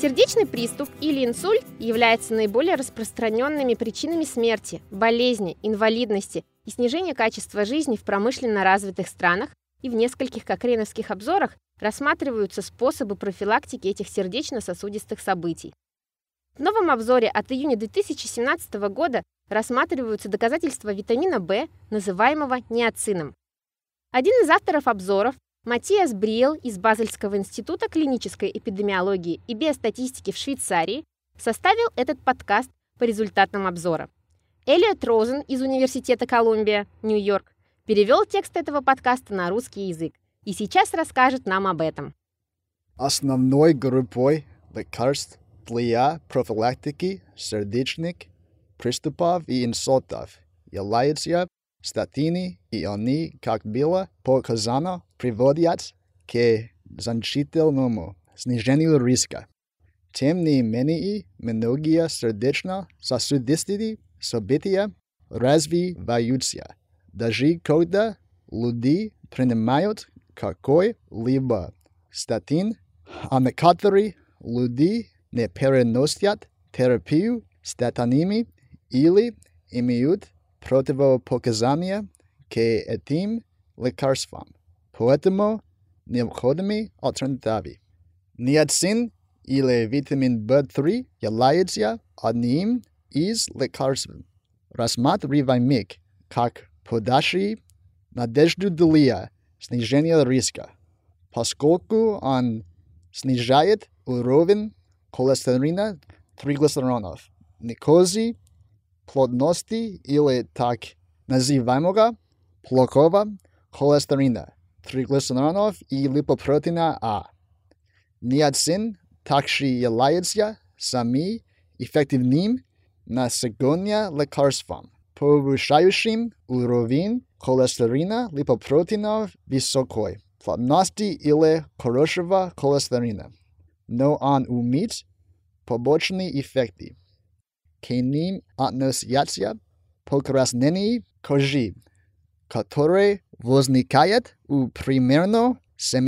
Сердечный приступ или инсульт являются наиболее распространенными причинами смерти, болезни, инвалидности и снижения качества жизни в промышленно развитых странах, и в нескольких кокрейновских обзорах рассматриваются способы профилактики этих сердечно-сосудистых событий. В новом обзоре от июня 2017 года рассматриваются доказательства витамина В, называемого ниацином. Один из авторов обзоров, Матиас Бриел из Базельского института клинической эпидемиологии и биостатистики в Швейцарии, составил этот подкаст по результатам обзора. Элиот Розен из Университета Колумбия, Нью-Йорк, перевел текст этого подкаста на русский язык и сейчас расскажет нам об этом. Основной группой лекарств для профилактики сердечных приступов и инсультов являются статины, и они, как было показано, приводят к значительному снижению риска. Тем не менее, многие сердечно-сосудистые события развиваются, даже когда люди принимают какой-либо статин, а некоторые люди не переносят терапию статинами или имеют противопоказания к этим лекарствам. Поэтому необходимы альтернативы. Ниацин или витамин В3 является одним из лекарств, рассматриваемых как подающий надежду для снижения риска, поскольку он снижает уровень холестерина, триглицеридов, глюкозы, плотности или так называемого плохого холестерина, триглицеридов и липопротеина А. Ниацин также является самым эффективным на сегодня лекарством, повышающим уровень холестерина, липопротеинов высокой плотности или хорошего холестерина. Но он имеет побочные эффекты. К ним относятся покраснение кожи, которое возникает у примерно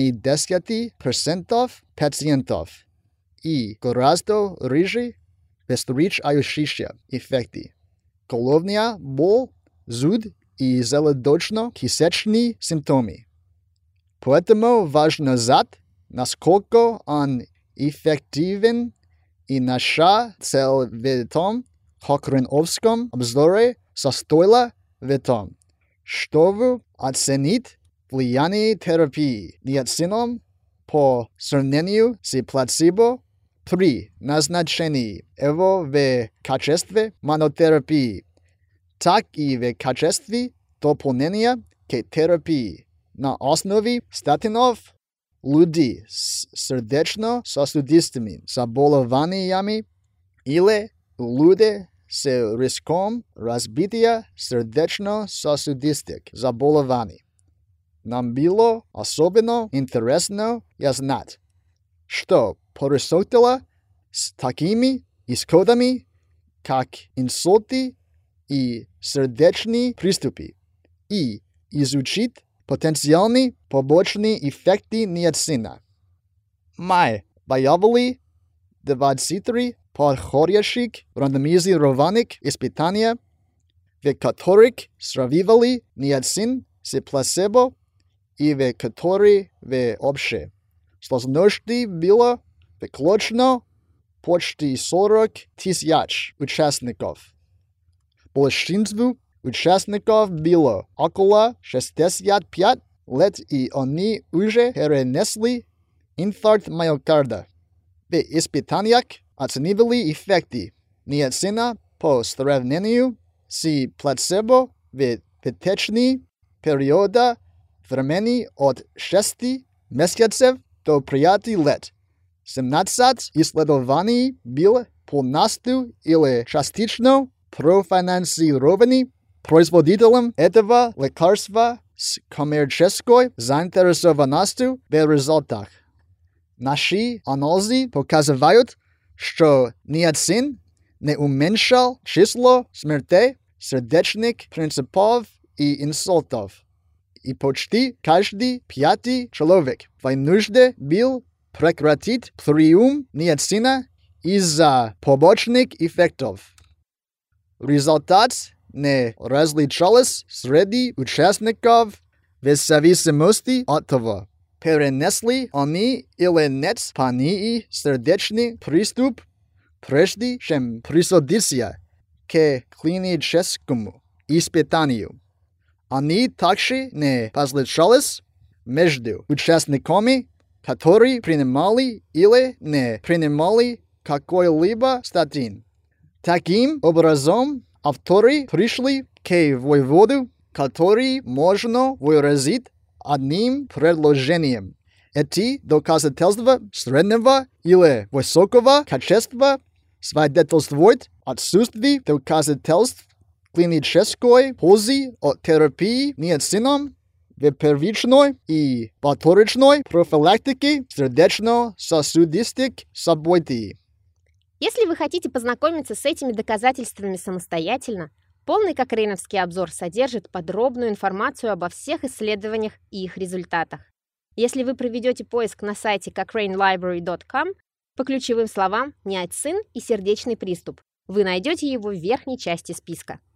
70% пациентов, и гораздо реже встречающиеся эффекты. Головная боль, зуд и желудочно-кишечные симптомы. Поэтому важно знать, насколько он эффективен, и наша цель в этом кокрейновском обзоре состояла в том, чтобы оценить влияние терапии ниацином по сравнению с плацебо при назначении его в качестве монотерапии, так и в качестве дополнения к терапии на основе статинов. Люди с сердечно-сосудистыми заболеваниями или люди с риском развития сердечно-сосудистых заболеваний. Нам было особенно интересно знать, что происходило с такими исходами, как инсульты и сердечные приступы, и изучить потенциальные побочные эффекты ниацина. Мы выявили 23 подходящих рандомизированных испытания, в которых сравнивали ниацин с плацебо и в которых в общей сложности было включено почти 40 тысяч участников. Большинству участников было около 65 лет, и они уже перенесли инфаркт миокарда. В испытаниях оценивали эффекты ниацина по сравнению с плацебо в течение периода времени от 6 месяцев до 5 лет. 17 исследований были полностью или частично профинансированы производителем этого лекарства с коммерческой заинтересованностью в результатах. Наши анализы показывают, что ниацин не уменьшал число смертей, сердечных приступов и инсультов. И почти каждый пятый человек в нужде был прекратить прием ниацина из-за побочных эффектов. Результат не различался среди участников в зависимости от того, перенесли они или нет пании сердечный приступ, прежде чем присудиться к клиническому испытанию. Они также не различались между участниками, которые принимали или не принимали какой-либо статин. Таким образом, авторы пришли к выводу, который можно выразить одним предложением. Эти доказательства среднего или высокого качества свидетельствуют отсутствие доказательств клинической пользы от терапии ниацином в первичной и повторной профилактике сердечно-сосудистых событий. Если вы хотите познакомиться с этими доказательствами самостоятельно, полный кокрейновский обзор содержит подробную информацию обо всех исследованиях и их результатах. Если вы проведете поиск на сайте cochranelibrary.com по ключевым словам «ниацин» и «сердечный приступ», вы найдете его в верхней части списка.